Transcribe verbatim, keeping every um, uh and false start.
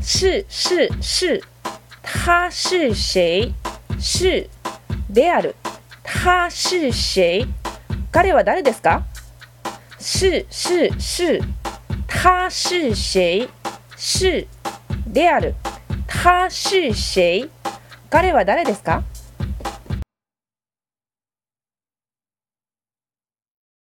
是是是他是谁是である他是谁彼は誰ですか是是是他是谁是である他是谁彼は誰ですか